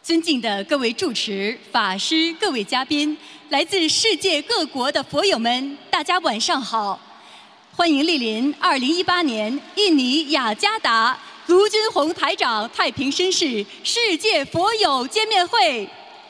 尊敬的各位主持、法师、各位嘉宾，来自世界各国的佛友们，大家晚上好！欢迎莅临2018年印尼雅加达卢军宏台长太平绅士世界佛友见面会。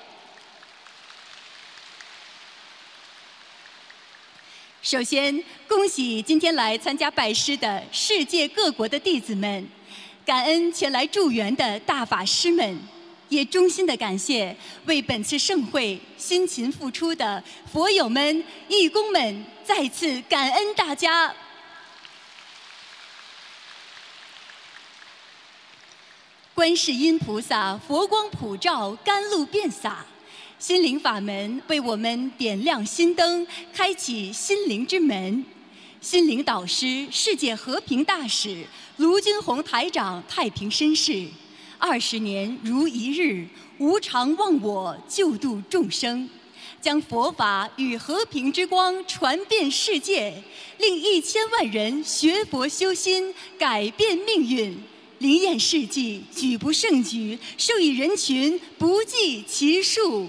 首先，恭喜今天来参加拜师的世界各国的弟子们，感恩前来助缘的大法师们。也衷心的感谢为本次盛会辛勤付出的佛友们、义工们，再次感恩大家。观世音菩萨佛光普照，甘露遍洒，心灵法门为我们点亮心灯，开启心灵之门。心灵导师、世界和平大使卢军宏台长太平绅士，20年如一日，无常忘我，救度众生，将佛法与和平之光传遍世界，令1000万人学佛修心，改变命运。灵验事迹，举不胜举，受益人群不计其数。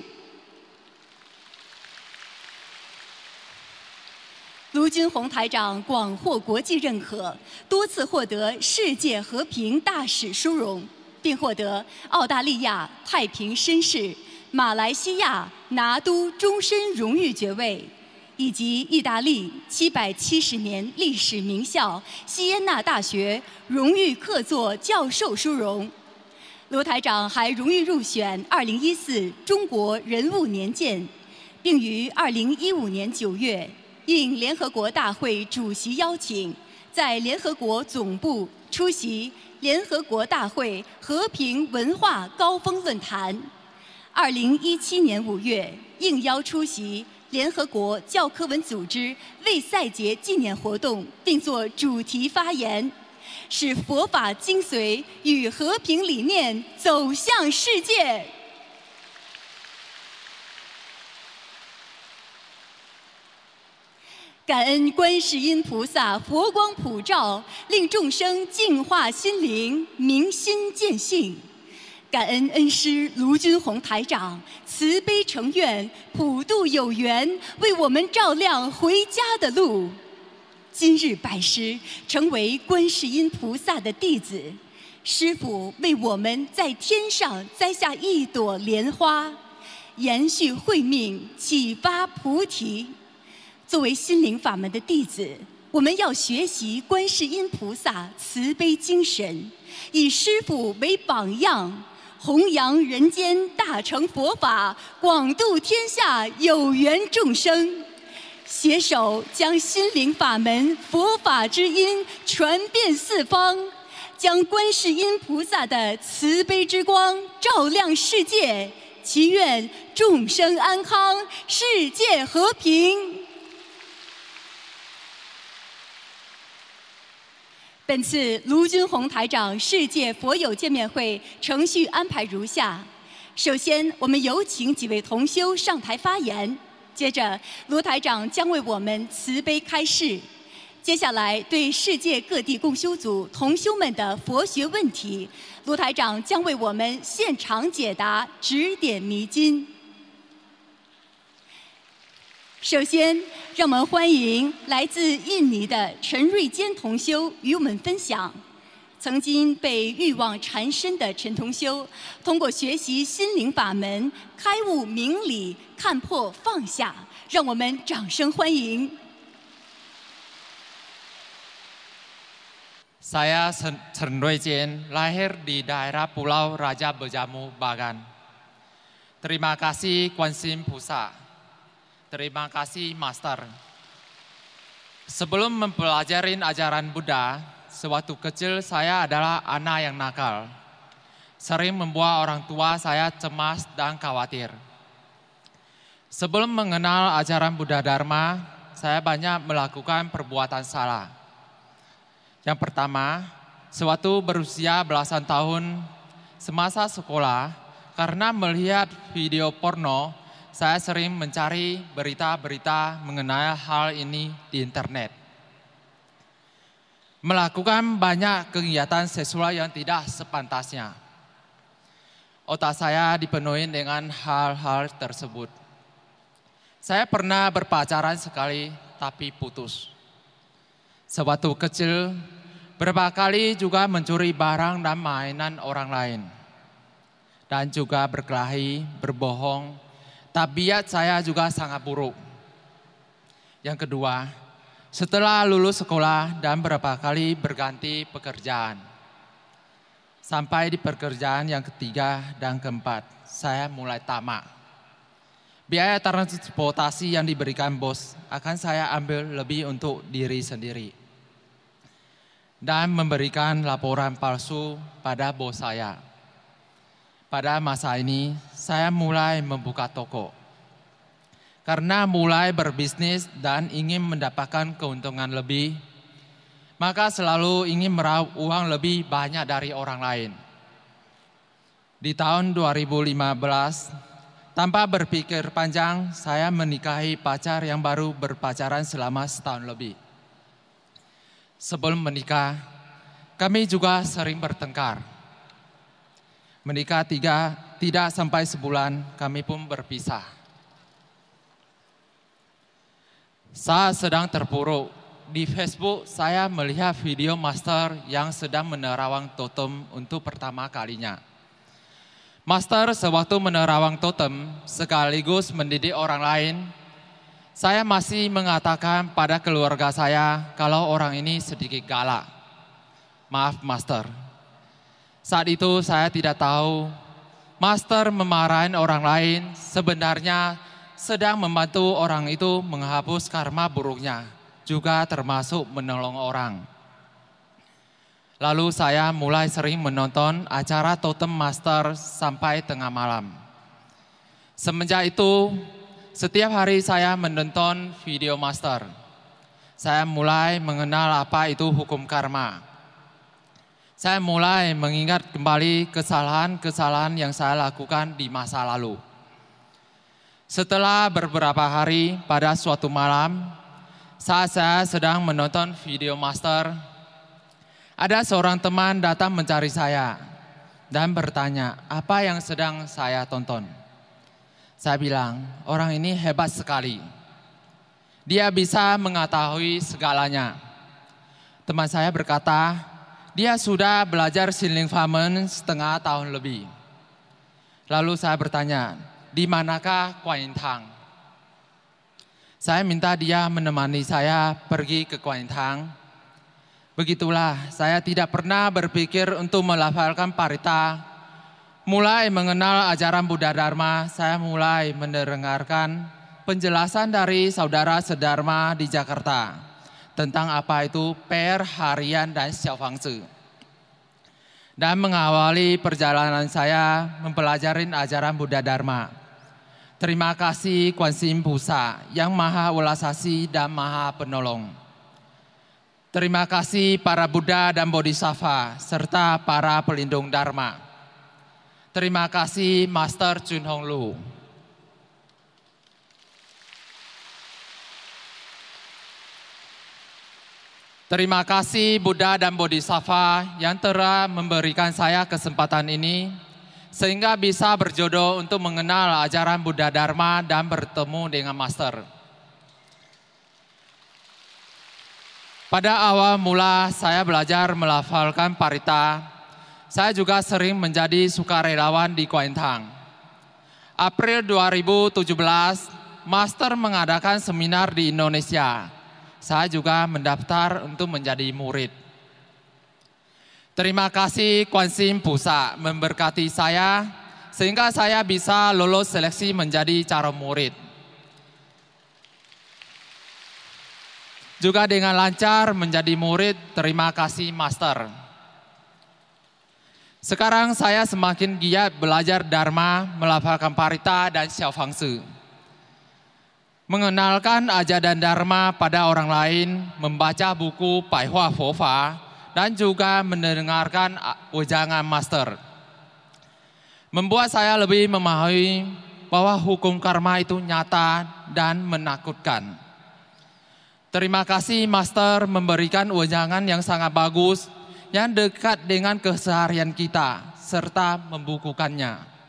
卢军宏台长广获国际认可，多次获得世界和平大使殊荣，并获得澳大利亚太平绅士、马来西亚拿督终身荣誉爵位，以及意大利770年历史名校锡耶纳大学荣誉客座教授殊荣。卢台长还荣誉入选2014中国人物年鉴，并于2015年9月应联合国大会主席邀请，在联合国总部出席联合国大会和平文化高峰论坛。2017年5月应邀出席联合国教科文组织为赛节纪念活动，并作主题发言，使佛法精髓与和平理念走向世界。感恩观世音菩萨佛光普照，令众生净化心灵，明心见性。感恩恩师卢军宏台长慈悲成愿，普度有缘，为我们照亮回家的路。今日拜师，成为观世音菩萨的弟子，师父为我们在天上栽下一朵莲花，延续慧命，启发菩提。作为心灵法门的弟子，我们要学习观世音菩萨慈悲精神，以师父为榜样，弘扬人间大乘佛法，广度天下有缘众生，携手将心灵法门佛法之音传遍四方，将观世音菩萨的慈悲之光照亮世界，祈愿众生安康，世界和平。本次卢军宏台长世界佛友见面会程序安排如下：首先，我们有请几位同修上台发言；接着，卢台长将为我们慈悲开示；接下来，对世界各地共修组同修们的佛学问题，卢台长将为我们现场解答，指点迷津。首先，让我们欢迎来自印尼的陈瑞坚同修与我们分享。曾经被欲望缠身的陈同修，通过学习心灵法门，开悟明理，看破放下。让我们掌声欢迎。 Saya Chen Ruijian, lahir di daerah Pulau Raja Berjamu, Bagan. Terima kasih Kuansin Pusa.Terima kasih Master. Sebelum mempelajari ajaran Buddha, sewaktu kecil saya adalah anak yang nakal. Sering membuat orang tua saya cemas dan khawatir. Sebelum mengenal ajaran Buddha Dharma, saya banyak melakukan perbuatan salah. Yang pertama, sewaktu berusia belasan tahun, semasa sekolah, karena melihat video porno, saya sering mencari berita-berita mengenai hal ini di internet. Melakukan banyak kegiatan seksual yang tidak sepantasnya. Otak saya dipenuhi dengan hal-hal tersebut. Saya pernah berpacaran sekali tapi putus. Sewaktu kecil, berapa kali juga mencuri barang dan mainan orang lain. Dan juga berkelahi, berbohong. Tabiat saya juga sangat buruk. Yang kedua, setelah lulus sekolah dan berapa kali berganti pekerjaan. Sampai di pekerjaan yang ketiga dan keempat, saya mulai tamak. Biaya transportasi yang diberikan bos akan saya ambil lebih untuk diri sendiri. Dan memberikan laporan palsu pada bos saya. Pada masa ini, saya mulai membuka toko. Karena mulai berbisnis dan ingin mendapatkan keuntungan lebih, maka selalu ingin meraup uang lebih banyak dari orang lain. Di tahun 2015, tanpa berpikir panjang, saya menikahi pacar yang baru berpacaran selama setahun lebih. Sebelum menikah, kami juga sering bertengkar. Menikah tidak sampai sebulan, kami pun berpisah. Saat sedang terpuruk, di Facebook saya melihat video master yang sedang menerawang totem untuk pertama kalinya. Master sewaktu menerawang totem sekaligus mendidik orang lain. Saya masih mengatakan pada keluarga saya kalau orang ini sedikit galak. Maaf master. Saat itu saya tidak tahu master memarahin orang lain sebenarnya sedang membantu orang itu menghapus karma buruknya. Juga termasuk menolong orang. Lalu saya mulai sering menonton acara Totem Master sampai tengah malam. Semenjak itu, setiap hari saya menonton video Master. Saya mulai mengenal apa itu hukum karma. Saya mulai mengingat kembali kesalahan-kesalahan yang saya lakukan di masa lalu. Setelah beberapa hari pada suatu malam, saat saya sedang menonton video master, ada seorang teman datang mencari saya dan bertanya apa yang sedang saya tonton. Saya bilang, orang ini hebat sekali. Dia bisa mengetahui segalanya. Teman saya berkata, dia sudah belajar Siling Famen setengah tahun lebih. Lalu saya bertanya, di manakah Kuan Yin Tang? Saya minta dia menemani saya pergi ke Kuan Yin Tang. Begitulah, saya tidak pernah berpikir untuk melafalkan parita. Mulai mengenal ajaran Buddha Dharma, saya mulai mendengarkan penjelasan dari saudara sedharma di Jakarta tentang apa itu per harian dan xiaofangzi. Dan mengawali perjalanan saya mempelajari ajaran Buddha Dharma. Terima kasih Kuan Yin Pusa yang maha welas asih dan maha penolong. Terima kasih para Buddha dan Bodhisattva serta para pelindung Dharma. Terima kasih Master Chun Hong Lu. Terima kasih Buddha dan Bodhisattva yang telah memberikan saya kesempatan ini sehingga bisa berjodoh untuk mengenal ajaran Buddha Dharma dan bertemu dengan Master. Pada awal mula saya belajar melafalkan parita, saya juga sering menjadi sukarelawan di Kuan Yin Tang. April 2017, Master mengadakan seminar di Indonesia. Saya juga mendaftar untuk menjadi murid. Terima kasih Kuan Yin Pusa memberkati saya sehingga saya bisa lolos seleksi menjadi calon murid. Juga dengan lancar menjadi murid, terima kasih Master. Sekarang saya semakin giat belajar Dharma, melafalkan parita dan xiaofangzi. Mengenalkan ajaran Dharma pada orang lain, membaca buku Paihua Fofa, dan juga mendengarkan wejangan Master. Membuat saya lebih memahami bahwa hukum karma itu nyata dan menakutkan. Terima kasih Master memberikan wejangan yang sangat bagus, yang dekat dengan keseharian kita, serta membukukannya.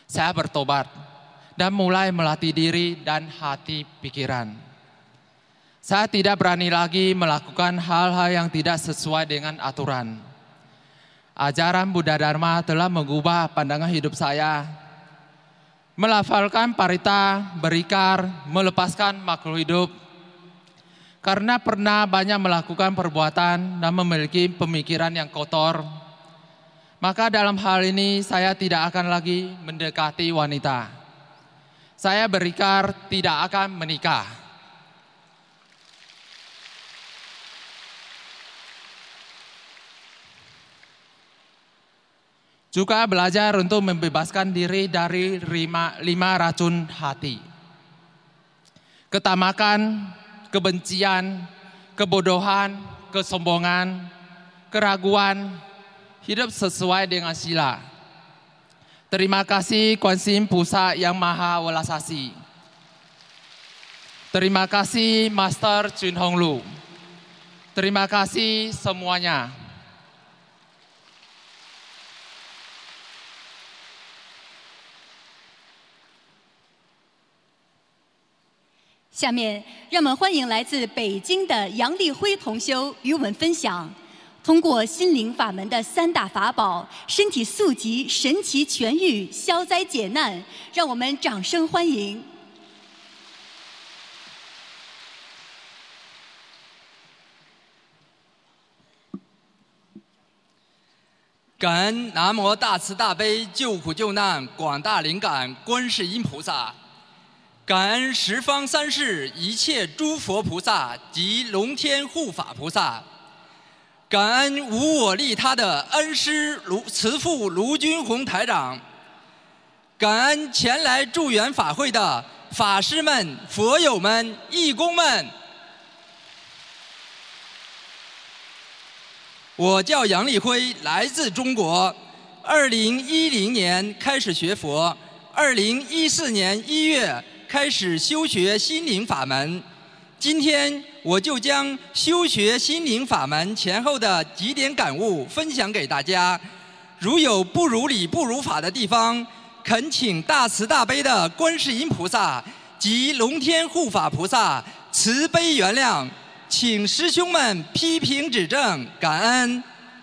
saya bertobat dan mulai melatih diri dan hati pikiran. Saya tidak berani lagi melakukan hal-hal yang tidak sesuai dengan aturan. Ajaran Buddha Dharma telah mengubah pandangan hidup saya. Melafalkan parita, berikar, melepaskan makhluk hidup. Karena pernah banyak melakukan perbuatan dan memiliki pemikiran yang kotor, maka dalam hal ini saya tidak akan lagi mendekati wanita. Saya berikrar tidak akan menikah. Juga belajar untuk membebaskan diri dari 5 racun hati. Ketamakan, kebencian, kebodohan, kesombongan, keraguan, hidup sesuai dengan sila. Terima kasih Kuan Yin Pusat yang Maha Welas Asih. Terima kasih Master Chun Hong Lu. Terima kasih semuanya. 下面，让我们欢迎来自北京的杨立辉同修与我们分享，通过心灵法门的3大法宝，身体速疾、神奇痊愈、消灾解难，让我们掌声欢迎。 感恩南无大慈大悲救苦救难广大灵感观世音菩萨。 感恩十方三世一切诸佛菩萨及龙天护法菩萨，感恩无我利他的恩师慈父卢军宏台长，感恩前来助缘法会的法师们、佛友们、义工们。我叫杨立辉，来自中国，2010年开始学佛，2014年1月。 开始修学心灵法门，今天我就将修学心灵法门前后的几点感悟分享给大家。如有不如理、不如法的地方，恳请大慈大悲的观世音菩萨及龙天护法菩萨慈悲原谅，请师兄们批评指正，感恩。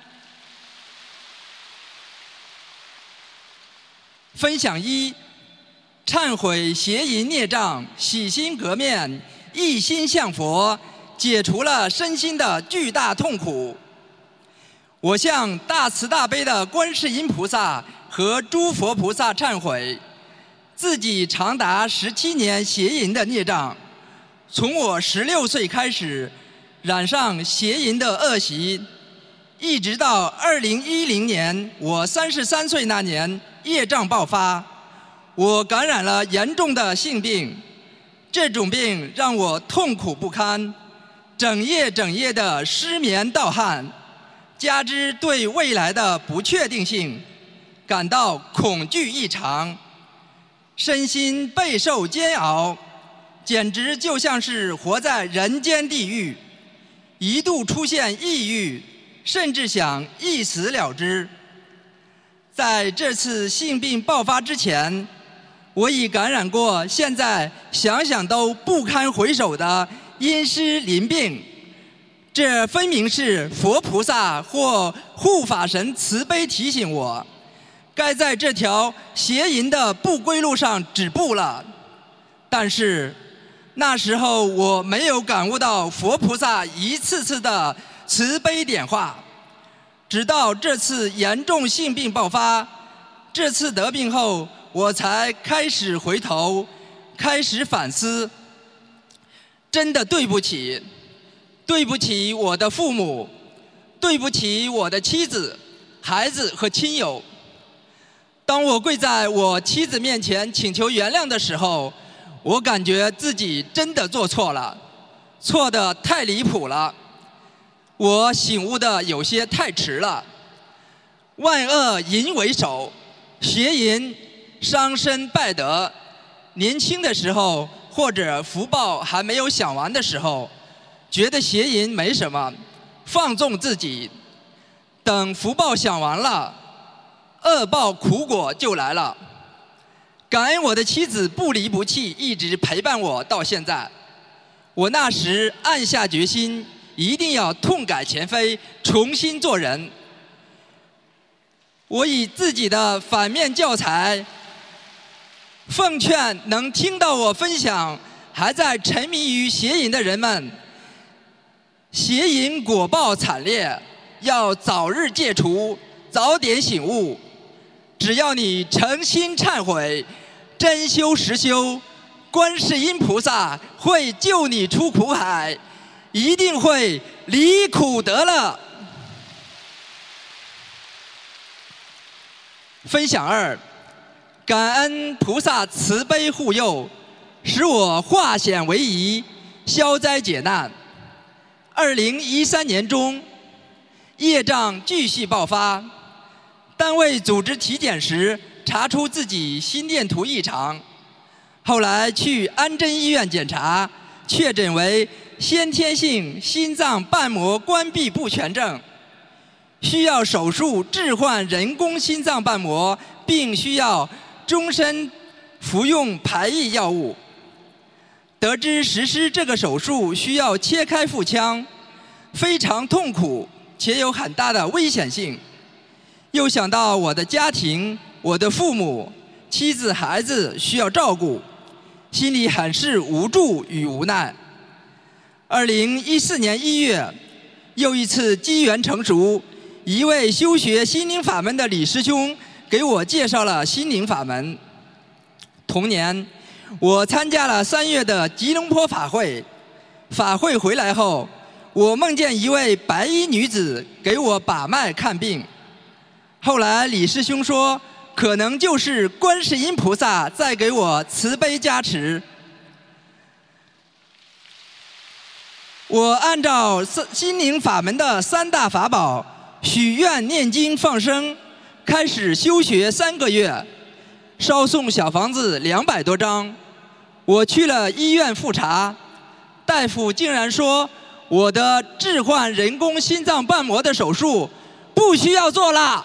分享1。 忏悔邪淫孽障，洗心革面，一心向佛，解除了身心的巨大痛苦。我向大慈大悲的观世音菩萨和诸佛菩萨忏悔，自己长达17年邪淫的孽障。从我16岁开始，染上邪淫的恶习，一直到2010年我33岁那年，业障爆发。 我感染了严重的性病，这种病让我痛苦不堪，整夜的失眠盗汗，加之对未来的不确定性，感到恐惧异常，身心备受煎熬，简直就像是活在人间地狱，一度出现抑郁，甚至想一死了之。在这次性病爆发之前。 我已感染过，现在想想都不堪回首的阴湿淋病，这分明是佛菩萨或护法神慈悲提醒我，该在这条邪淫的不归路上止步了。但是那时候我没有感悟到佛菩萨一次次的慈悲点化，直到这次严重性病爆发，这次得病后。 我才开始回头，开始反思。真的对不起，对不起我的父母，对不起我的妻子、孩子和亲友。当我跪在我妻子面前请求原谅的时候，我感觉自己真的做错了，错得太离谱了。我醒悟的有些太迟了。万恶淫为首，邪淫。 伤身败德，年轻的时候或者福报还没有享完的时候，觉得邪淫没什么，放纵自己。等福报享完了，恶报苦果就来了。 感恩我的妻子不离不弃，一直陪伴我到现在。我那时暗下决心，一定要痛改前非，重新做人。我以自己的反面教材，奉劝能听到我分享还在沉迷于邪淫的人们，邪淫果报惨烈，要早日戒除，早点醒悟。只要你诚心忏悔，真修实修，观世音菩萨会救你出苦海，一定会离苦得乐。分享2，感恩菩萨慈悲护佑，使我化险为夷，消灾解难。2013年中，业障继续爆发，单位组织体检时查出自己心电图异常，后来去安贞医院检查，确诊为先天性心脏瓣膜关闭不全症，需要手术置换人工心脏瓣膜，并需要终身服用排异药物。得知实施这个手术需要切开腹腔，非常痛苦且有很大的危险性。又想到我的家庭、我的父母、妻子、孩子需要照顾，心里很是无助与无奈。2014年1月，又一次机缘成熟，一位修学心灵法门的李师兄给我介绍了心灵法门。同年，我参加了3月的吉隆坡法会。法会回来后，我梦见一位白衣女子给我把脉看病。后来李师兄说，可能就是观世音菩萨在给我慈悲加持。我按照心灵法门的3大法宝许愿、念经、放生，开始修学3个月，烧送小房子200多张。我去了医院复查，大夫竟然说我的置换人工心脏瓣膜的手术不需要做了。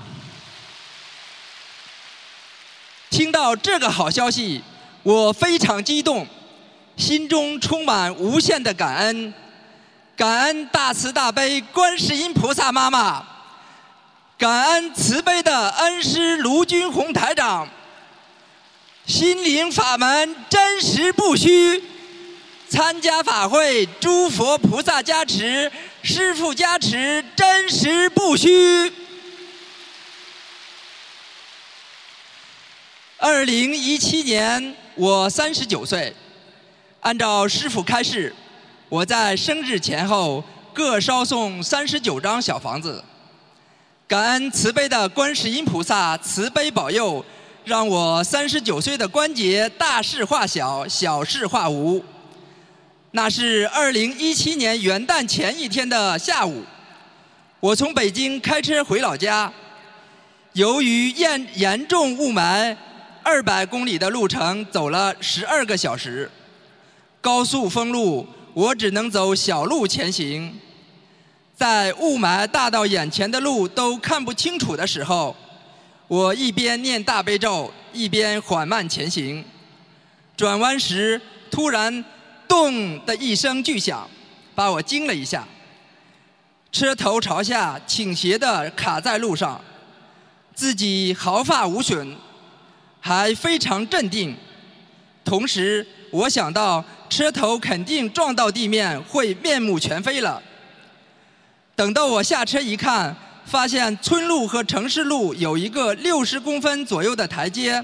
听到这个好消息，我非常激动，心中充满无限的感恩。感恩大慈大悲观世音菩萨妈妈，感恩慈悲的恩师卢军宏台长。心灵法门真实不虚，参加法会诸佛菩萨加持，师父加持，真实不虚。2017年我39岁，按照师父开示，我在生日前后各烧送39张小房子。感恩慈悲的观世音菩萨慈悲保佑，让我39岁的关节大事化小，小事化无。那是2017年元旦前一天的下午，我从北京开车回老家，由于严重雾霾，200公里的路程走了12个小时，高速封路，我只能走小路前行。在雾霾大到眼前的路都看不清楚的时候，我一边念大悲咒，一边缓慢前行。转弯时，突然咚的一声巨响，把我惊了一下。车头朝下倾斜地卡在路上，自己毫发无损，还非常镇定。同时我想到车头肯定撞到地面会面目全非了。等到我下车一看，发现村路和城市路有一个60公分左右的台阶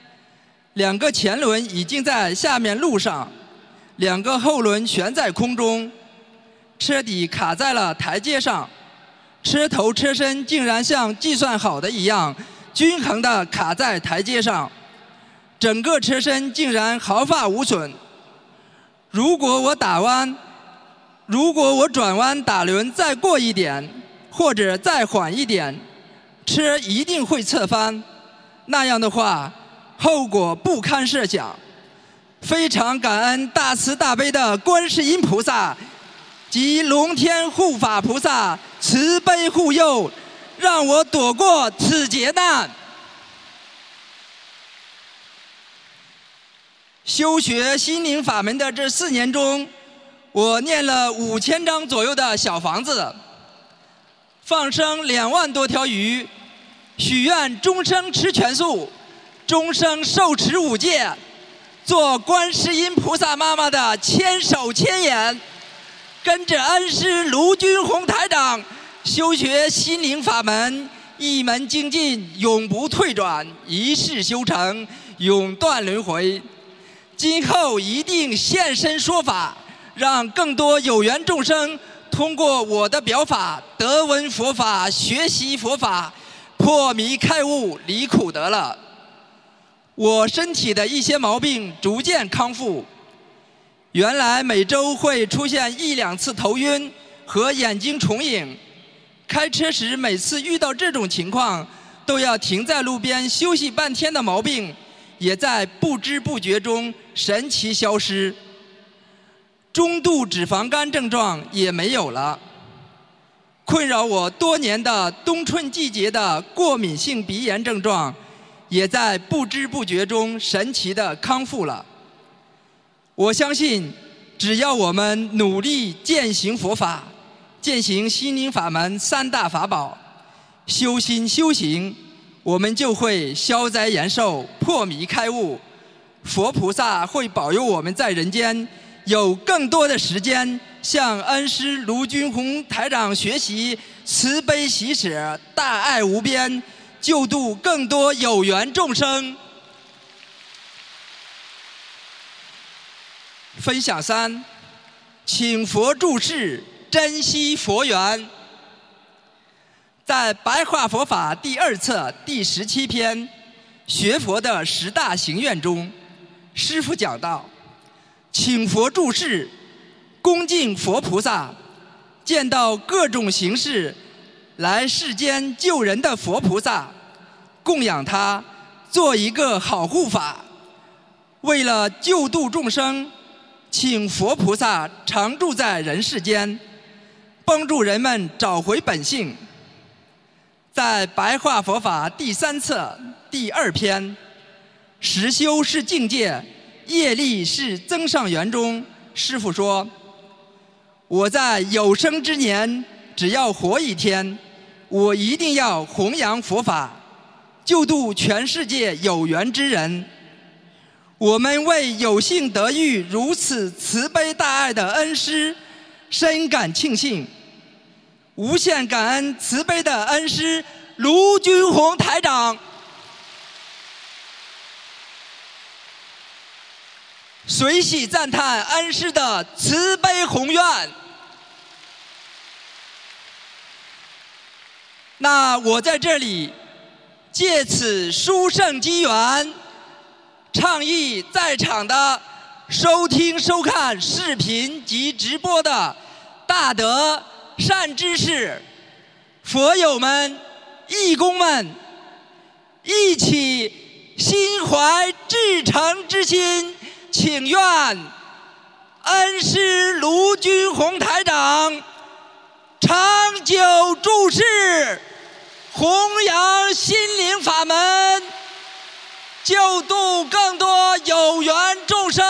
，2个前轮已经在下面路上，2个后轮悬在空中，车底卡在了台阶上，车头车身竟然像计算好的一样均衡地卡在台阶上，整个车身竟然毫发无损。如果我转弯打轮再过一点，或者再缓一点，车一定会侧翻，那样的话后果不堪设想。非常感恩大慈大悲的观世音菩萨及龙天护法菩萨慈悲护佑，让我躲过此劫难。 修学心灵法门的这4年中，我念了5000张左右的小房子，放生2万多条鱼，许愿终生吃全素，终生受持5戒，做观世音菩萨妈妈的千手千眼，跟着恩师卢军宏台长修学心灵法门，一门精进，永不退转，一世修成，永断轮回。今后一定现身说法，让更多有缘众生通过我的表法得闻佛法，学习佛法，破迷开悟，离苦得乐。我身体的一些毛病逐渐康复，原来每周会出现1、2次头晕和眼睛重影，开车时每次遇到这种情况都要停在路边休息半天的毛病，也在不知不觉中神奇消失。中度脂肪肝症状也没有了。困扰我多年的冬春季节的过敏性鼻炎症状，也在不知不觉中神奇地康复了。我相信，只要我们努力践行佛法，践行心灵法门3大法宝，修心修行，我们就会消灾延寿，破迷开悟。佛菩萨会保佑我们在人间有更多的时间向恩师卢军宏台长学习慈悲喜舍，大爱无边，救度更多有缘众生。分享3，请佛注释，珍惜佛缘。在白话佛法第2册第17篇学佛的10大行愿中，师父讲到，请佛注释，恭敬佛菩萨，见到各种形式来世间救人的佛菩萨，供养他，做一个好护法。为了救度众生，请佛菩萨常住在人世间，帮助人们找回本性。在白话佛法第3册第2篇实修是境界，业力是增上缘中，师父说，我在有生之年，只要活1天，我一定要弘扬佛法，救度全世界有缘之人。我们为有幸得遇如此慈悲大爱的恩师，深感庆幸，无限感恩慈悲的恩师卢军宏台长。随喜赞叹恩师的慈悲宏愿。那我在这里借此殊胜机缘，倡议在场的收听收看视频及直播的大德善知识、佛友们、义工们，一起心怀至诚之心，请愿恩师卢军宏台长长久住世，弘扬心灵法门，救度更多有缘众生。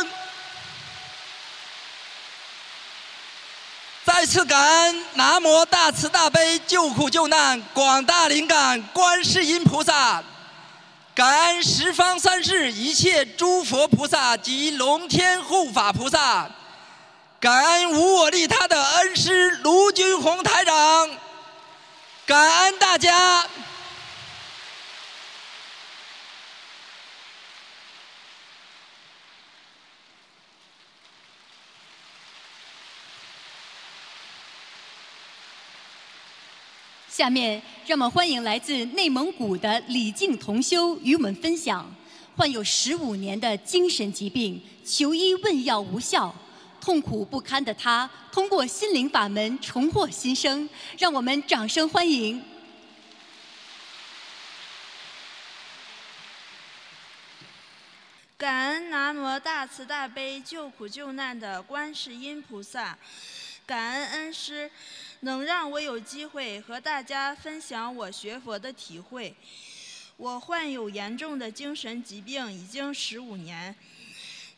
再次感恩南无大慈大悲救苦救难广大灵感观世音菩萨，感恩十方三世一切诸佛菩萨及龙天护法菩萨，感恩无我利他的恩师卢军宏台长，感恩大家。 下面让我们欢迎来自内蒙古的李静同修与我们分享，患有15年的精神疾病，求医问药无效，痛苦不堪的他通过心灵法门重获新生，让我们掌声欢迎。 感恩南无大慈大悲救苦救难的观世音菩萨，感恩恩师能让我有机会和大家分享我学佛的体会。我患有严重的精神疾病已经15年，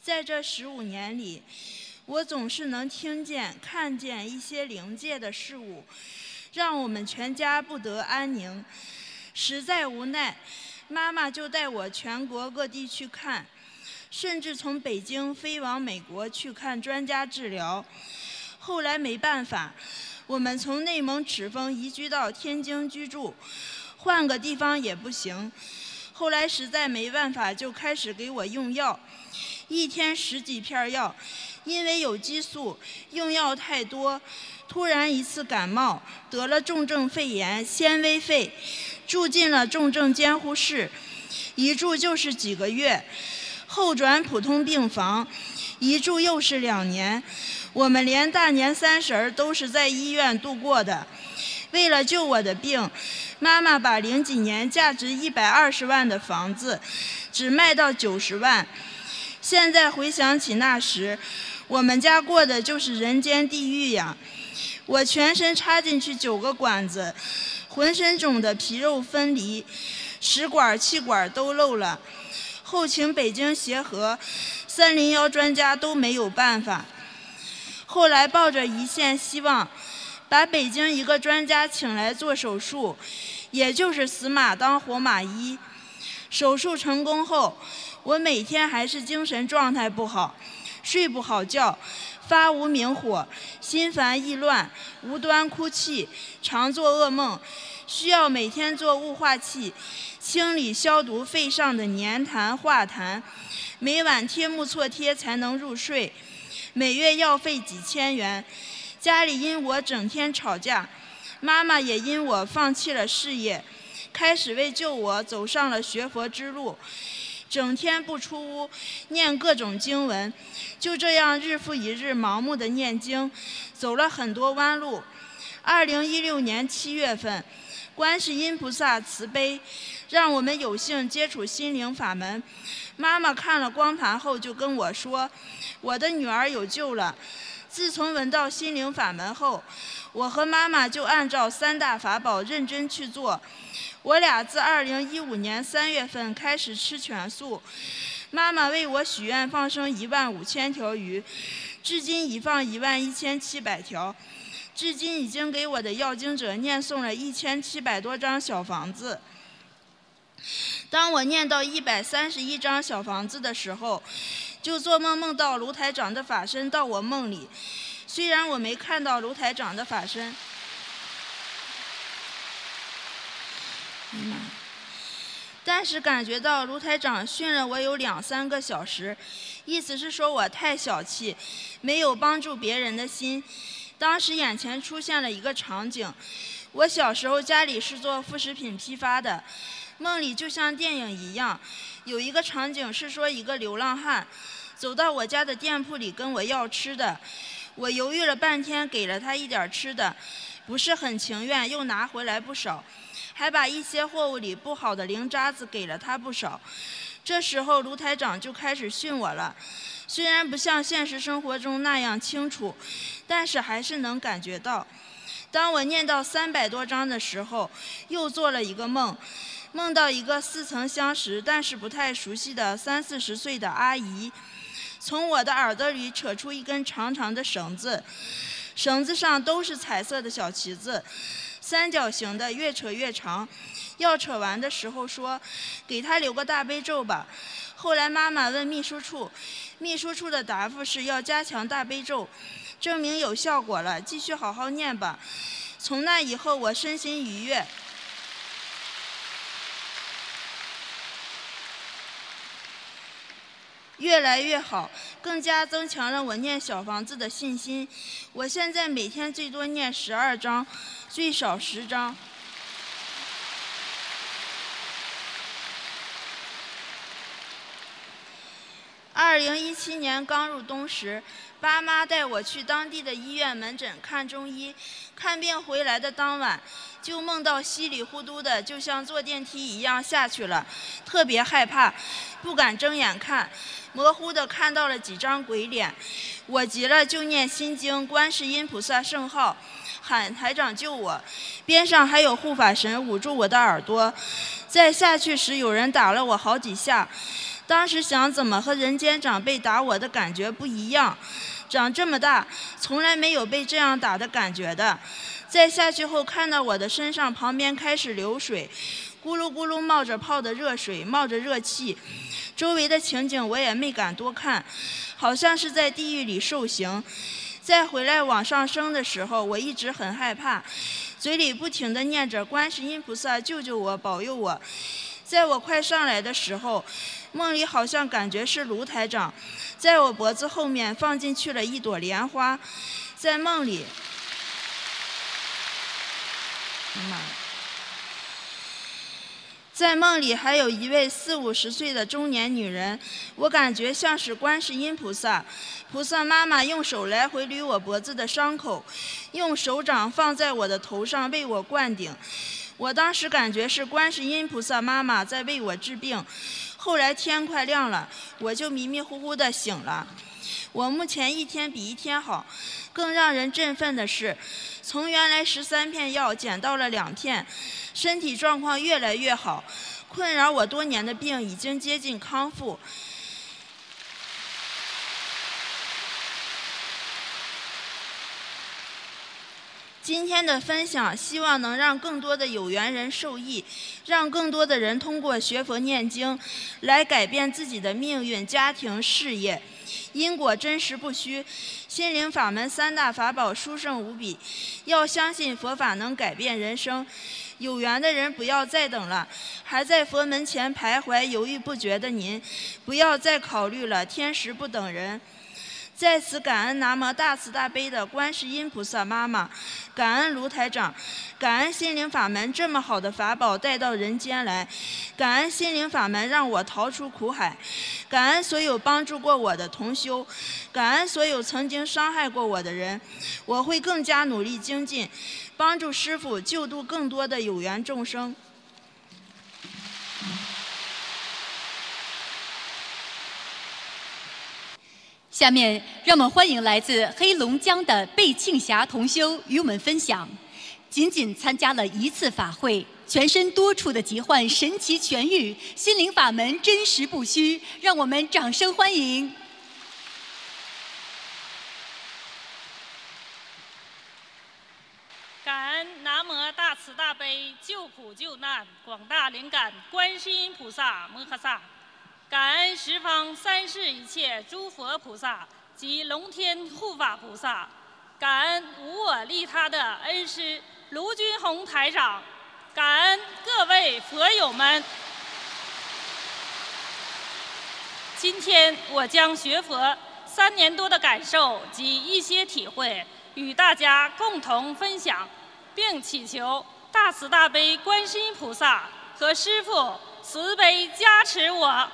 在这15年里，我总是能听见、看见一些灵界的事物，让我们全家不得安宁。实在无奈，妈妈就带我全国各地去看，甚至从北京飞往美国去看专家治疗。后来没办法，我们从内蒙赤峰移居到天津居住，换个地方也不行。后来实在没办法，就开始给我用药，一天10几片药。因为有激素，用药太多，突然一次感冒，得了重症肺炎，纤维肺，住进了重症监护室，一住就是几个月，后转普通病房，一住又是2年。我们连大年30都是在医院度过的。为了救我的病，妈妈把00几年价值120万的房子只卖到90万。现在回想起那时，我们家过的就是人间地狱呀！我全身插进去9个管子，浑身肿得皮肉分离，食管、气管都漏了。后请北京协和、301专家都没有办法。后来抱着一线希望，把北京一个专家请来做手术，也就是死马当活马医。手术成功后，我每天还是精神状态不好，睡不好觉，发无名火，心烦意乱，无端哭泣，常做噩梦，需要每天做雾化器，清理消毒肺上的粘痰化痰，每晚贴木错贴才能入睡，每月药费几千元。家里因我整天吵架，妈妈也因我放弃了事业，开始为救我走上了学佛之路，整天不出屋，念各种经文，就这样日复一日盲目的念经，走了很多弯路。2016年7月份，观世音菩萨慈悲，让我们有幸接触心灵法门。妈妈看了光盘后就跟我说，我的女儿有救了。自从闻到心灵法门后，我和妈妈就按照3大法宝认真去做。我俩自2015年3月份开始吃全素，妈妈为我许愿放生15000条鱼，至今已放11700条，至今已经给我的要经者念诵了1700多张小房子。当我念到131张小房子的时候，就做梦梦到卢台长的法身到我梦里，虽然我没看到卢台长的法身，但是感觉到卢台长训了我有2、3个小时，意思是说我太小气，没有帮助别人的心。当时眼前出现了一个场景，我小时候家里是做副食品批发的，梦里就像电影一样，有一个场景是说一个流浪汉走到我家的店铺里跟我要吃的，我犹豫了半天给了他一点吃的，不是很情愿，又拿回来不少，还把一些货物里不好的零渣子给了他不少。这时候卢台长就开始训我了，虽然不像现实生活中那样清楚，但是还是能感觉到。当我念到300多章的时候，又做了一个梦，梦到一个似曾相识但是不太熟悉的30、40岁的阿姨，从我的耳朵里扯出一根长长的绳子，绳子上都是彩色的小旗子，三角形的，越扯越长。要扯完的时候说，给他留个大悲咒吧。后来妈妈问秘书处，秘书处的答复是要加强大悲咒，证明有效果了，继续好好念吧。从那以后我身心愉悦，越来越好，更加增强了我念小房子的信心。我现在每天最多念12章，最少10章。2017年刚入冬时，爸妈带我去当地的医院门诊看中医，看病回来的当晚，就梦到稀里糊涂的，就像坐电梯一样下去了，特别害怕，不敢睁眼看，模糊的看到了几张鬼脸。我急了就念心经、观世音菩萨圣号，喊台长救我，边上还有护法神捂住我的耳朵。在下去时有人打了我好几下， 当时想怎么和人间长辈打我的感觉不一样，长这么大从来没有被这样打的感觉的。再下去后看到我的身上旁边开始流水，咕噜咕噜冒着泡的热水，冒着热气，周围的情景我也没敢多看，好像是在地狱里受刑。再回来往上升的时候，我一直很害怕，嘴里不停地念着观世音菩萨救救我，保佑我。在我快上来的时候，梦里好像感觉是卢台长在我脖子后面放进去了一朵莲花。在梦里还有一位40、50岁的中年女人，我感觉像是观世音菩萨。菩萨妈妈用手来回捋我脖子的伤口，用手掌放在我的头上为我灌顶。我当时感觉是观世音菩萨妈妈在为我治病。后来天快亮了，我就迷迷糊糊地醒了。我目前一天比一天好，更让人振奋的是，从原来13片药减到了2片，身体状况越来越好，困扰我多年的病已经接近康复。今天的分享希望能让更多的有缘人受益，让更多的人通过学佛念经来改变自己的命运、家庭、事业。因果真实不虚，心灵法门3大法宝殊胜无比，要相信佛法能改变人生。有缘的人不要再等了，还在佛门前徘徊犹豫不决的您，不要再考虑了，天时不等人。在此感恩南无大慈大悲的观世音菩萨妈妈，感恩卢台长，感恩心灵法门这么好的法宝带到人间来，感恩心灵法门让我逃出苦海，感恩所有帮助过我的同修，感恩所有曾经伤害过我的人。我会更加努力精进，帮助师父救度更多的有缘众生。 下面让我们欢迎来自黑龙江的贝庆霞同修与我们分享，仅仅参加了1次法会，全身多处的疾患神奇痊愈，心灵法门真实不虚，让我们掌声欢迎。 感恩南无大慈大悲救苦救难广大灵感观世音菩萨摩诃萨，感恩十方三世一切诸佛菩萨及龙天护法菩萨，感恩无我利他的恩师卢军宏台长，感恩各位佛友们。今天我将学佛3年多的感受及一些体会与大家共同分享，并祈求大慈大悲观世音菩萨和师父慈悲加持我。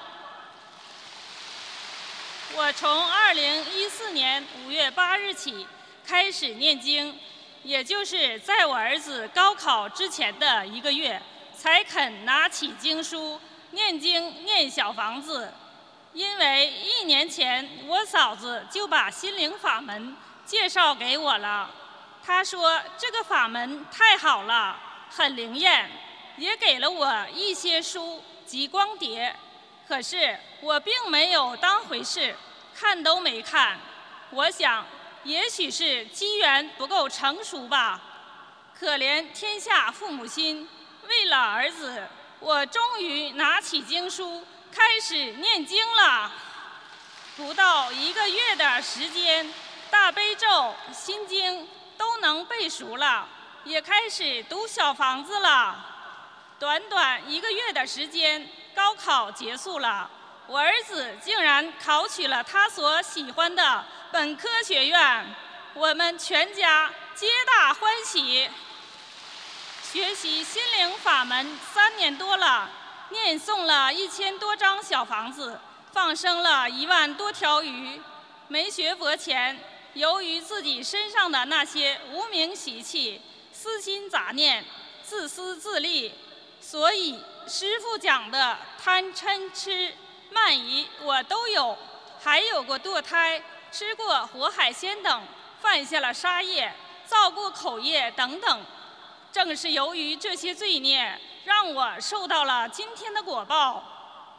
我从2014年5月8日起开始念经，也就是在我儿子高考之前的1个月，才肯拿起经书念经念小房子。因为1年前我嫂子就把心灵法门介绍给我了，她说这个法门太好了，很灵验，也给了我一些书及光碟。可是我并没有当回事，看都没看。我想也许是机缘不够成熟吧。可怜天下父母心，为了儿子，我终于拿起经书开始念经了。不到1个月的时间，大悲咒、心经都能背熟了，也开始读小房子了。短短1个月的时间，高考结束了，我儿子竟然考取了他所喜欢的本科学院，我们全家皆大欢喜。学习心灵法门3年多了，念诵了1000多张小房子，放生了1万多条鱼。没学佛前，由于自己身上的那些无名习气、私心杂念、自私自利，所以师父讲的贪嗔痴慢疑我都有，还有过堕胎、吃过活海鲜等，犯下了杀业、造过口业等等。正是由于这些罪孽，让我受到了今天的果报。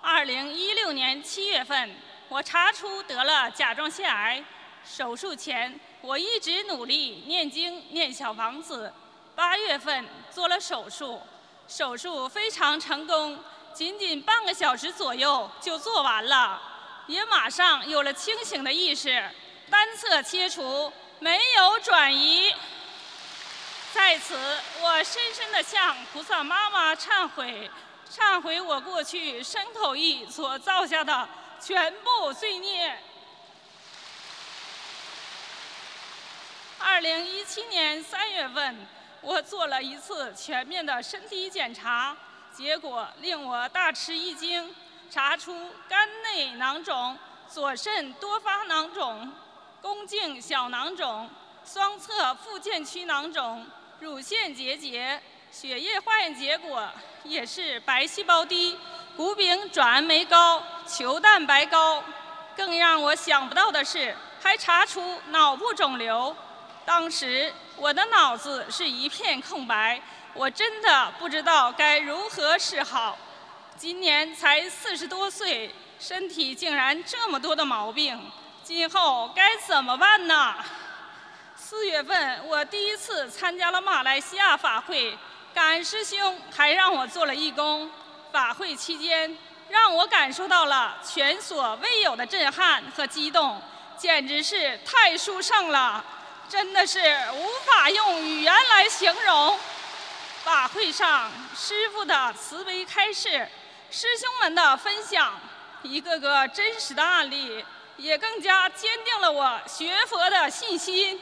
2016年7月份，我查出得了甲状腺癌。手术前，我一直努力念经、念小房子。8月份做了手术，手术非常成功，仅仅半个小时左右就做完了，也马上有了清醒的意识，单侧切除，没有转移。在此，我深深地向菩萨妈妈忏悔，忏悔我过去身口意所造下的全部罪孽。2017年3月份，我做了一次全面的身体检查，结果令我大吃一惊，查出肝内囊肿、左肾多发囊肿、宫颈小囊肿、双侧附件区囊肿、乳腺结节，血液化验结果也是白细胞低、谷丙转氨酶高、球蛋白高。更让我想不到的是，还查出脑部肿瘤。当时我的脑子是一片空白，我真的不知道该如何是好。今年才40多岁，身体竟然这么多的毛病，今后该怎么办呢？4月份，我第一次参加了马来西亚法会，感恩师兄还让我做了义工。法会期间，让我感受到了前所未有的震撼和激动，简直是太殊胜了。真的是无法用语言来形容。法会上，师父的慈悲开示，师兄们的分享，一个个真实的案例，也更加坚定了我学佛的信心。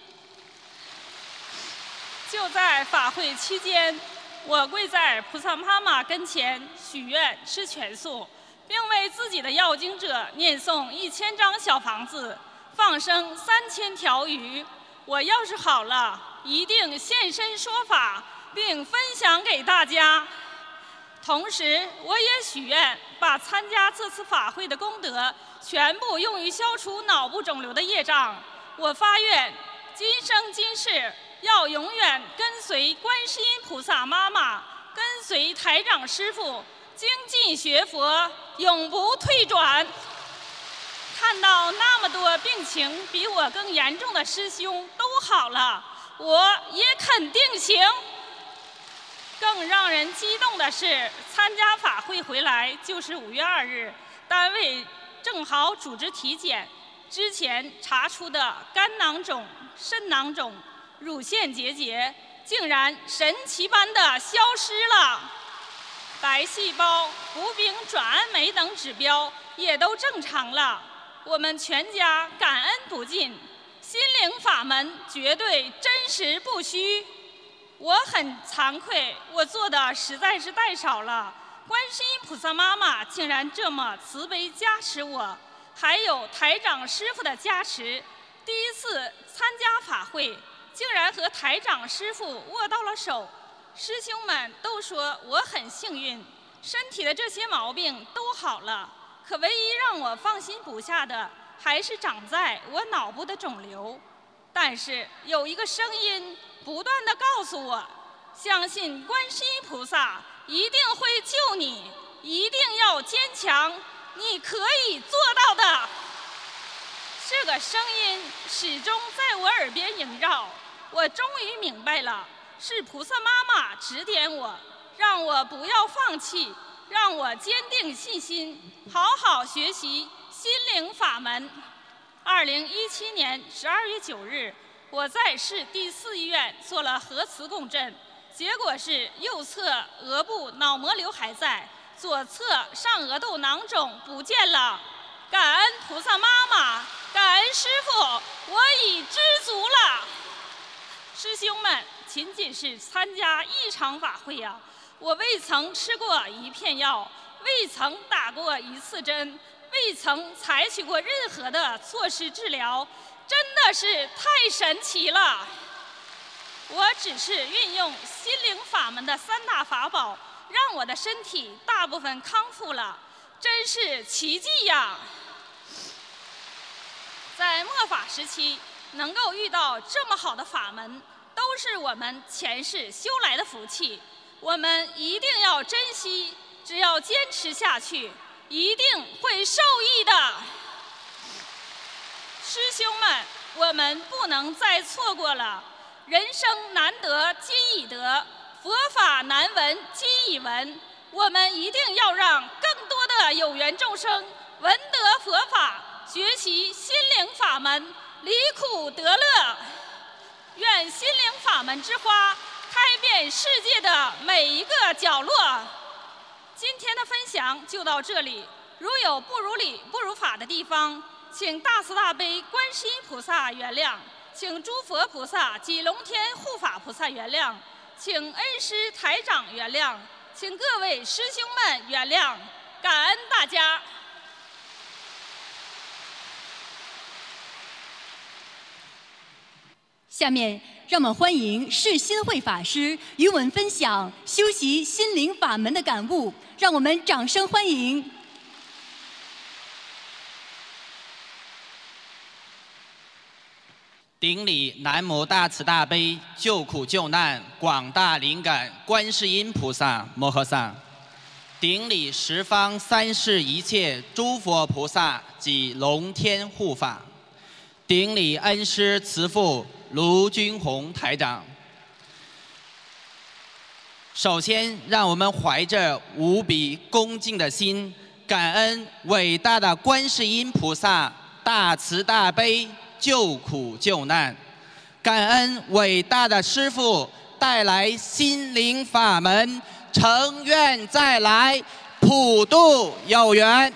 就在法会期间，我跪在菩萨妈妈跟前许愿吃全素，并为自己的要经者念诵1000张小房子，放生3000条鱼。我要是好了，一定现身说法，并分享给大家。同时，我也许愿把参加这次法会的功德全部用于消除脑部肿瘤的业障。我发愿，今生今世要永远跟随观世音菩萨妈妈，跟随台长师父，精进学佛，永不退转。看到那么多病情比我更严重的师兄都好了，我也肯定行。更让人激动的是，参加法会回来就是5月2日，单位正好组织体检，之前查出的肝囊肿、肾囊肿、乳腺结节，竟然神奇般的消失了，白细胞、谷丙转氨酶等指标也都正常了。我们全家感恩不尽，心灵法门绝对真实不虚。我很惭愧，我做的实在是太少了。观世音菩萨妈妈竟然这么慈悲加持我，还有台长师父的加持。第一次参加法会，竟然和台长师父握到了手。师兄们都说我很幸运，身体的这些毛病都好了。可唯一让我放心不下的，还是长在我脑部的肿瘤。但是有一个声音不断地告诉我，相信观世音菩萨一定会救你，一定要坚强，你可以做到的。这个声音始终在我耳边萦绕，我终于明白了，是菩萨妈妈指点我，让我不要放弃，让我坚定信心，好好学习心灵法门。2017年12月9日，我在市第4医院做了核磁共振，结果是右侧额部脑膜瘤还在，左侧上额窦囊肿不见了。感恩菩萨妈妈，感恩师父，我已知足了。师兄们，仅仅是参加一场法会啊，我未曾吃过一片药，未曾打过一次针，未曾采取过任何的措施治疗，真的是太神奇了。我只是运用心灵法门的3大法宝，让我的身体大部分康复了，真是奇迹呀！在末法时期，能够遇到这么好的法门，都是我们前世修来的福气。我们一定要珍惜，只要坚持下去， 一定会受益的。师兄们，我们不能再错过了。人生难得今已得，佛法难闻今已闻。我们一定要让更多的有缘众生闻得佛法，学习心灵法门，离苦得乐。愿心灵法门之花开遍世界的每一个角落。今天的分享就到这里，如有不如理、不如法的地方，请大慈大悲观世音菩萨原谅，请诸佛菩萨及龙天护法菩萨原谅，请恩师台长原谅，请各位师兄们原谅，感恩大家。 下面让我们欢迎释心慧法师与我们分享修习心灵法门的感悟，让我们掌声欢迎。 顶礼南无大慈大悲救苦救难广大灵感观世音菩萨摩诃萨，顶礼十方三世一切诸佛菩萨及龙天护法，顶礼恩师慈父卢军宏台长。首先，让我们怀着无比恭敬的心，感恩伟大的观世音菩萨大慈大悲救苦救难，感恩伟大的师父带来心灵法门，诚愿再来，普度有缘。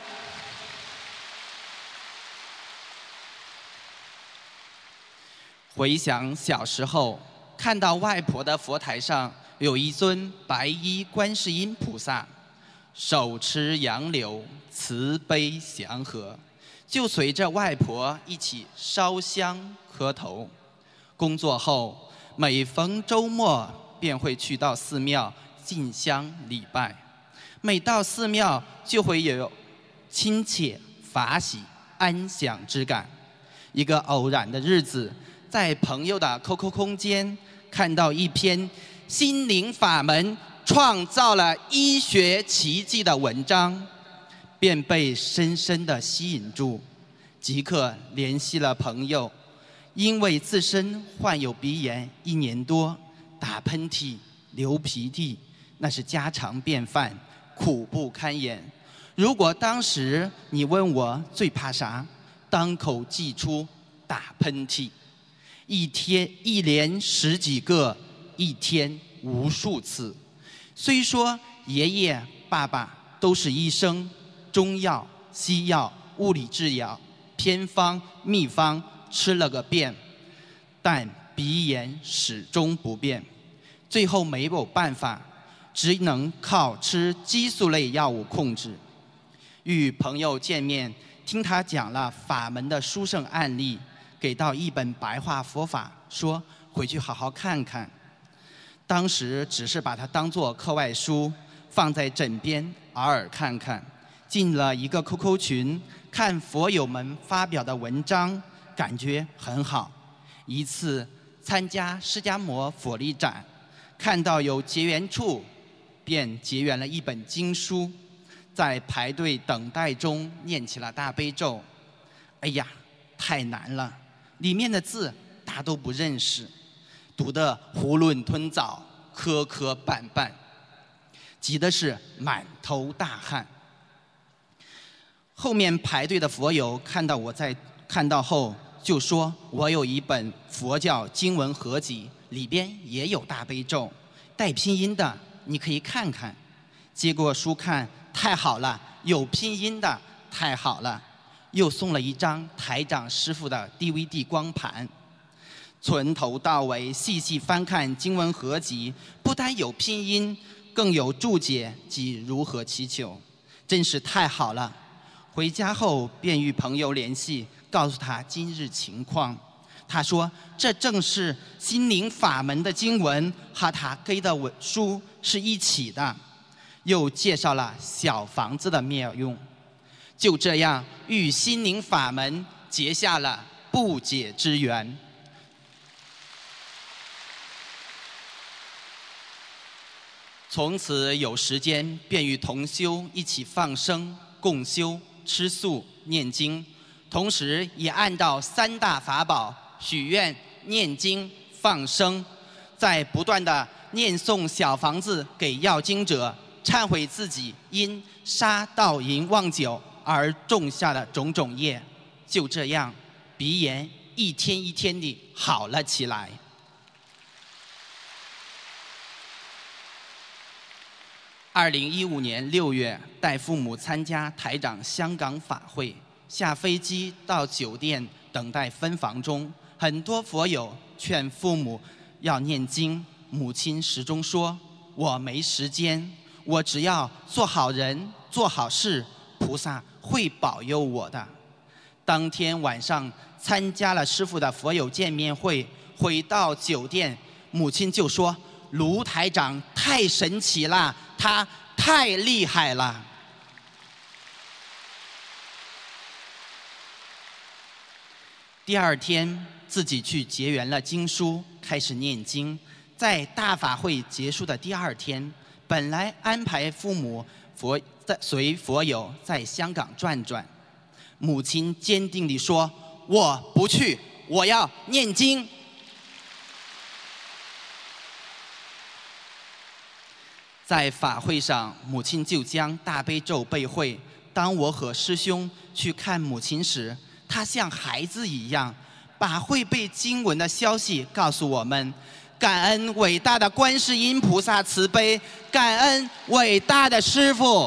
回想小时候，看到外婆的佛台上有一尊白衣观世音菩萨，手持杨柳，慈悲祥和，就随着外婆一起烧香磕头。工作后，每逢周末便会去到寺庙进香礼拜。每到寺庙，就会有亲切、法喜、安详之感。一个偶然的日子，在朋友的 QQ 空间看到一篇心灵法门创造了医学奇迹的文章，便被深深地吸引住，即刻联系了朋友。因为自身患有鼻炎1年多，打喷嚏、流鼻涕，那是家常便饭，苦不堪言。如果当时你问我最怕啥，当口即出打喷嚏，一连10几个，一天无数次。虽说爷爷、爸爸都是医生，中药、西药、物理治疗、偏方、秘方吃了个遍，但鼻炎始终不变。最后没有办法，只能靠吃激素类药物控制。与朋友见面，听他讲了法门的殊胜案例，给到一本白话佛法，说回去好好看看。当时只是把它当作课外书，放在枕边偶尔看看。进了一个 QQ 群，看佛友们发表的文章，感觉很好。一次参加释迦摩佛力展，看到有结缘处，便结缘了一本经书，在排队等待中念起了大悲咒。哎呀，太难了，里面的字大都不认识，读得囫囵吞枣，磕磕绊绊，急的是满头大汗。后面排队的佛友看到后就说，我有一本佛教经文合集，里边也有大悲咒，带拼音的，你可以看看。接过书看，太好了，有拼音的，太好了。又送了一张台长师父的 DVD 光盘，从头到尾细细翻看经文合集，不但有拼音，更有注解及如何祈求，真是太好了。回家后便与朋友联系，告诉他今日情况。他说这正是心灵法门的经文和他给的书是一起的，又介绍了小房子的妙用。就这样与心灵法门结下了不解之缘。从此有时间便与同修一起放生共修、吃素、念经，同时也按照3大法宝许愿、念经、放生，在不断的念诵小房子给要经者，忏悔自己因杀盗淫妄酒而种下的种种业。就这样，鼻炎一天一天地好了起来。2015年6月，带父母参加台长香港法会，下飞机到酒店等待分房中，很多佛友劝父母要念经，母亲始终说：“我没时间，我只要做好人、做好事，菩萨会保佑我的。”当天晚上参加了师父的佛友见面会，回到酒店，母亲就说：“卢台长太神奇了，他太厉害了。”第二天，自己去结缘了经书，开始念经。在大法会结束的第2天，本来安排父母随佛友在香港转转，母亲坚定地说：“我不去，我要念经。”在法会上，母亲就将大悲咒背会。当我和师兄去看母亲时，她像孩子一样，把会背经文的消息告诉我们。感恩伟大的观世音菩萨慈悲，感恩伟大的师父。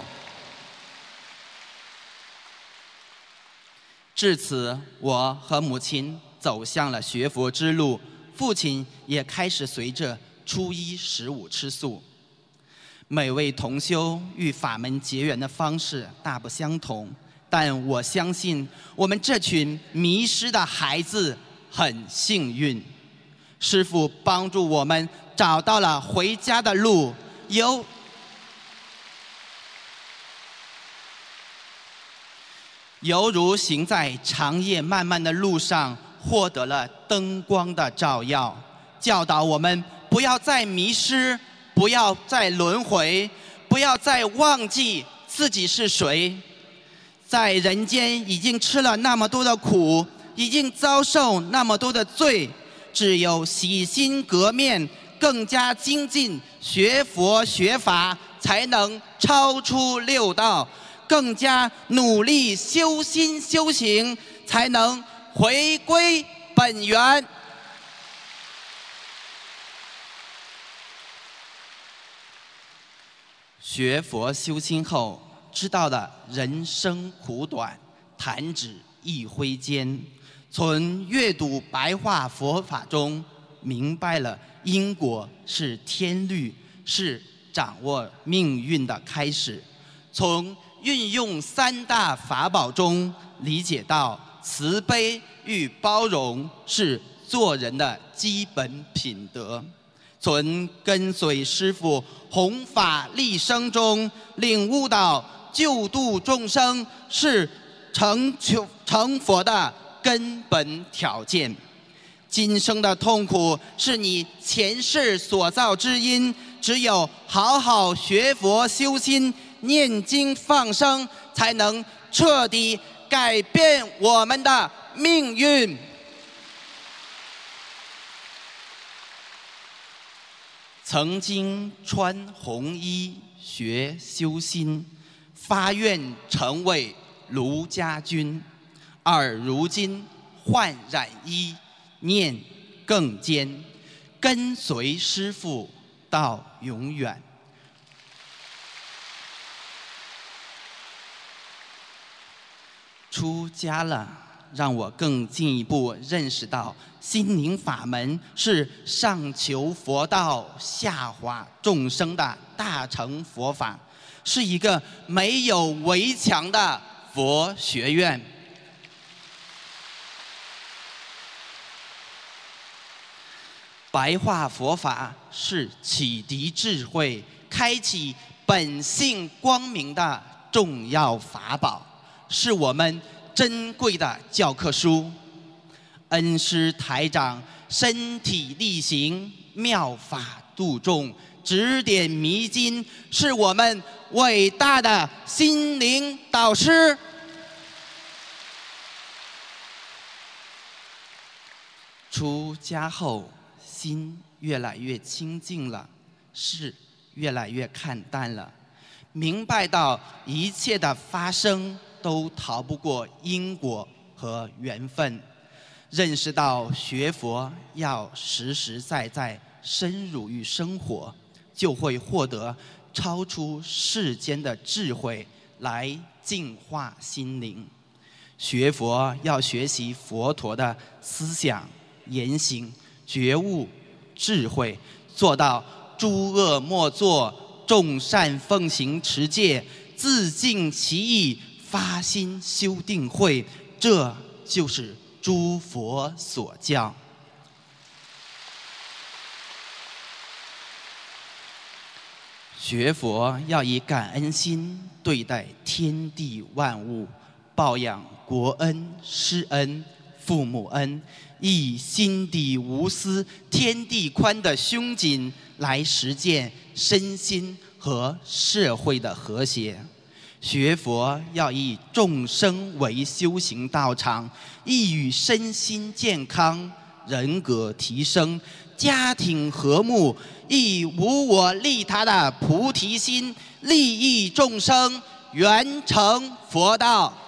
至此，我和母亲走向了学佛之路，父亲也开始随着初一十五吃素。每位同修与法门结缘的方式大不相同，但我相信我们这群迷失的孩子很幸运，师父帮助我们找到了回家的路，犹如行在长夜漫漫的路上，获得了灯光的照耀，教导我们不要再迷失，不要再轮回，不要再忘记自己是谁。在人间已经吃了那么多的苦，已经遭受那么多的罪，只有洗心革面，更加精进学佛学法，才能超出六道，更加努力修心修行，才能回归本源。学佛修心后，知道了人生苦短，弹指一挥间。从阅读白话佛法中，明白了因果是天律，是掌握命运的开始。从运用三大法宝中，理解到慈悲与包容是做人的基本品德。从跟随师父弘法利生中，领悟到救度众生是成佛的根本条件。今生的痛苦是你前世所造之因，只有好好学佛修心，念经放生，才能彻底改变我们的命运。曾经穿红衣学修心，发愿成为卢家军，而如今焕染衣，念更坚，跟随师父到永远。出家了，让我更进一步认识到心灵法门是上求佛道，下化众生的大乘佛法，是一个没有围墙的佛学院。白话佛法是启迪智慧、开启本性光明的重要法宝，是我们珍贵的教科书。恩师台长身体力行，妙法度众， 指点迷津，是我们伟大的心灵导师。出家后，心越来越清净了，事越来越看淡了，明白到一切的发生都逃不过因果和缘分，认识到学佛要实实在在深入于生活，就会获得超出世间的智慧来净化心灵。学佛要学习佛陀的思想言行、觉悟、智慧，做到诸恶莫作，众善奉行持戒，自净其意，发心修定慧，这就是诸佛所教。学佛要以感恩心对待天地万物，报养国恩、师恩、父母恩，以心底无私、天地宽的胸襟来实践身心和社会的和谐。学佛要以众生为修行道场，亦与身心健康、人格提升、家庭和睦，以无我利他的菩提心，利益众生，圆成佛道。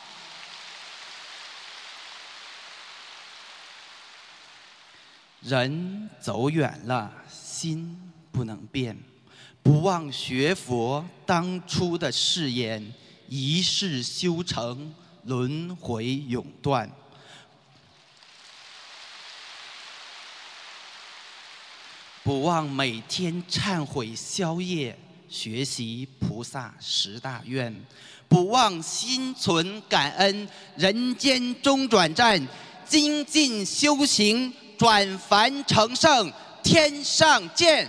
人走远了，心不能变，不忘学佛当初的誓言，一世修成，轮回永断。不忘每天忏悔消业，学习菩萨10大愿，不忘心存感恩，人间中转站，精进修行，转凡成圣，天上见。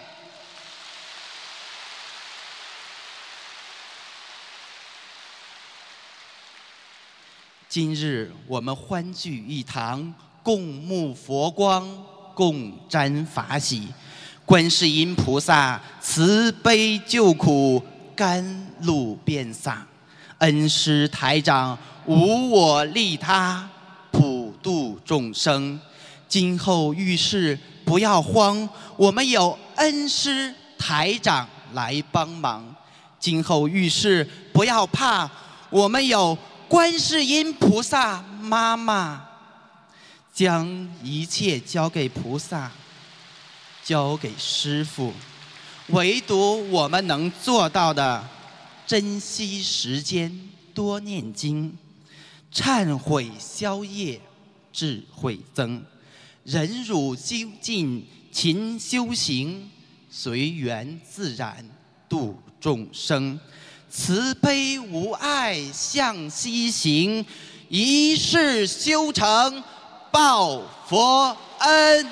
今日我们欢聚一堂，共沐佛光，共沾法喜。观世音菩萨慈悲救苦，甘露遍洒。恩师台长无我利他，普度众生。今后遇事不要慌，我们有恩师台长来帮忙。今后遇事不要怕，我们有观世音菩萨妈妈。将一切交给菩萨，交给师父，唯独我们能做到的，珍惜时间，多念经，忏悔消业，智慧增，忍辱精进，勤修行，随缘自然度众生，慈悲无碍向西行，一世修成报佛恩。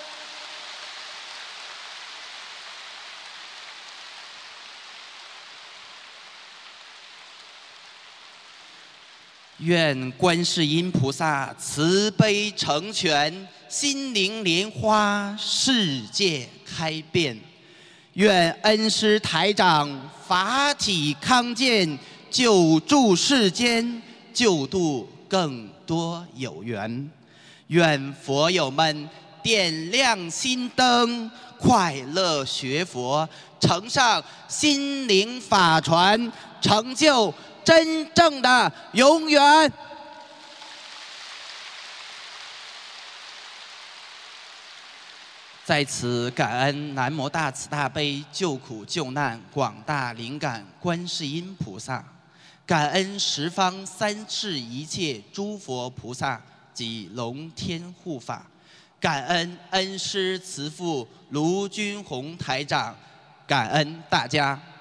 愿观世音菩萨慈悲成全，心灵莲花世界开遍。愿恩师台长法体康健，救助世间，救度更多有缘。愿佛友们点亮心灯，快乐学佛，乘上心灵法船，成就真正的永远。在此感恩南无大慈大悲救苦救难广大灵感观世音菩萨，感恩十方三世一切诸佛菩萨及龙天护法，感恩恩师慈父卢军宏台长，感恩大家。